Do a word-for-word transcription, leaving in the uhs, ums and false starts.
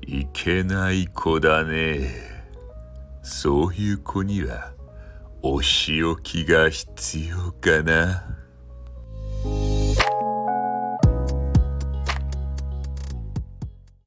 いけない子だね。そういう子にはお仕置きが必要かな。